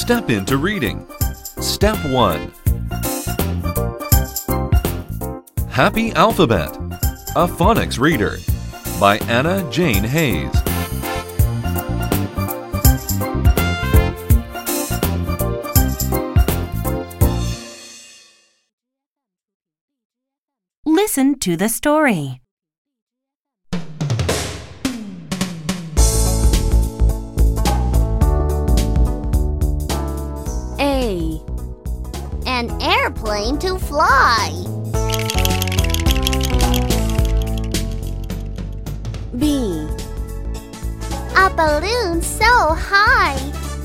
Step into reading. Step 1. Happy Alphabet, a phonics reader, by Anna Jane Hayes. Listen to the story. A. An airplane to fly. B. A balloon so high.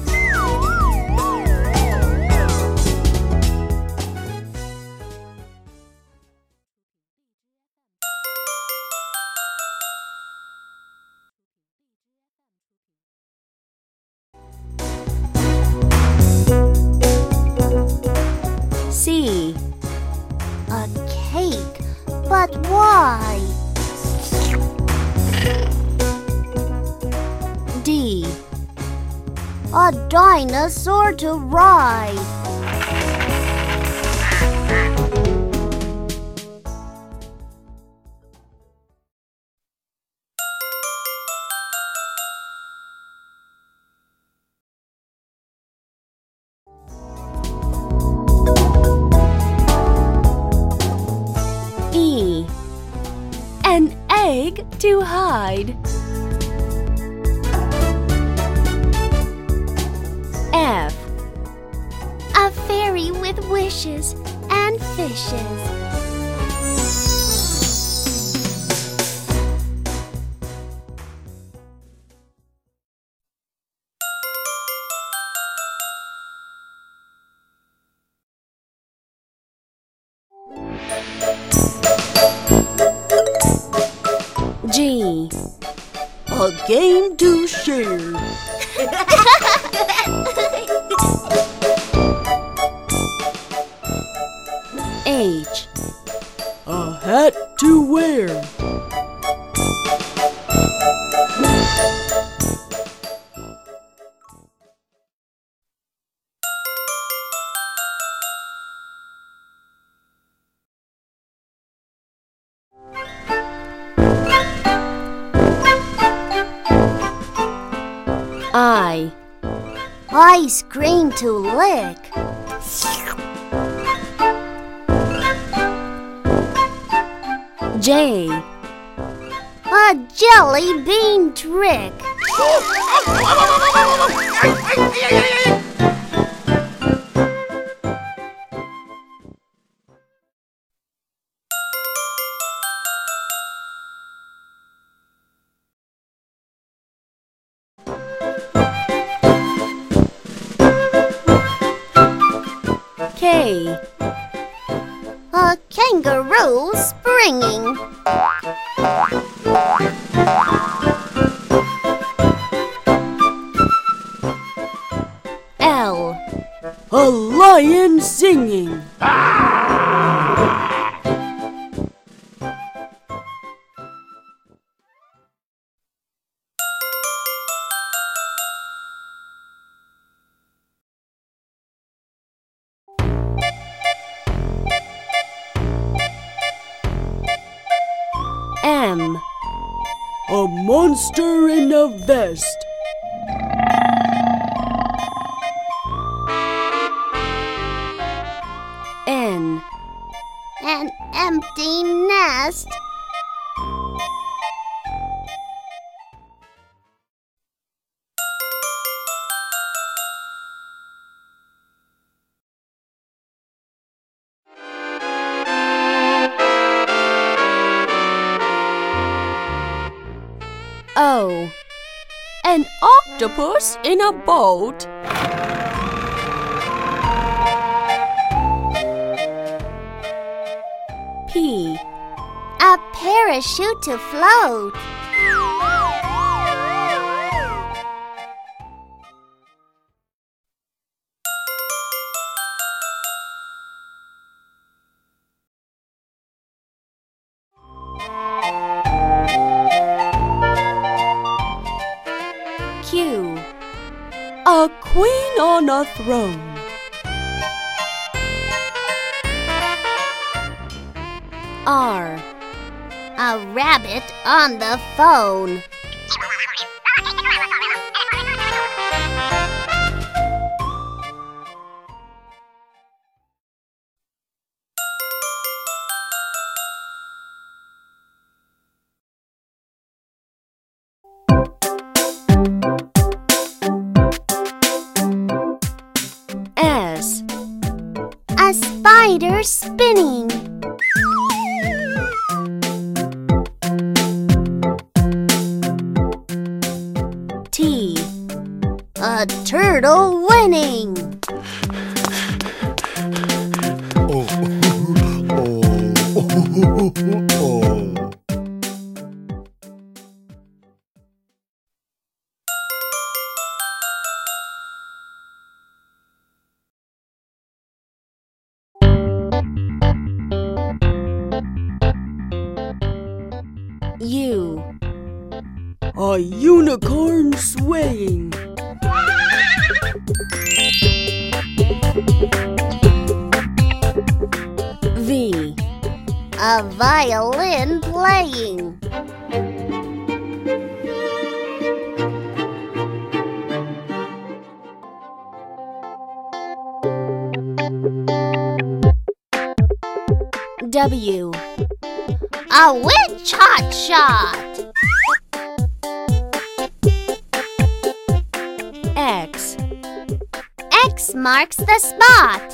C. A cake, but why? D. A dinosaur to ride. E. An egg to hide. F. A fairy with wishes and fishes. G. A game to share. H. A hat to wear. I. Ice cream to lick. J. A jelly bean trick. K. A kangaroo springing. L. A lion singing. M. A monster in a vest. N. An empty nest. O. An octopus in a boat. P. A parachute to float. Q. A queen on a throne. R. A rabbit on the phone. S. A spider spinning. T. A turtle winning. U. A unicorn swaying. V. A violin playing. W. A witch hot shot. X. X marks the spot.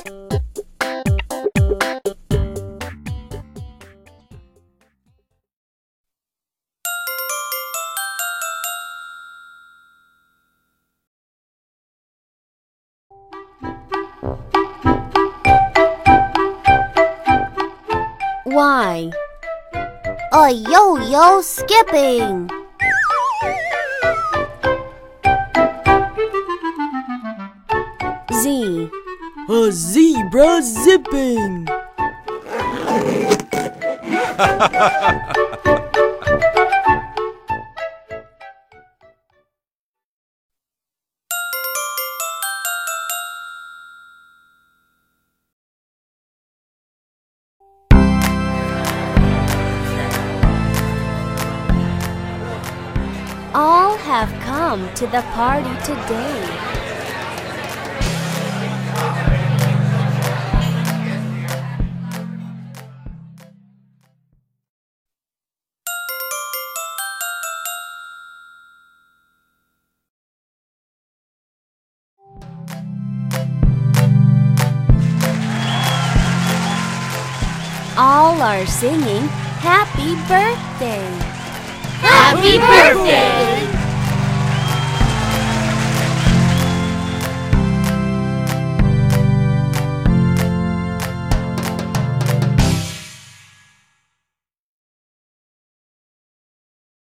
Y. A yo-yo skipping. Z. A zebra zipping. All have come to the party today. All are singing happy birthday. Happy birthday!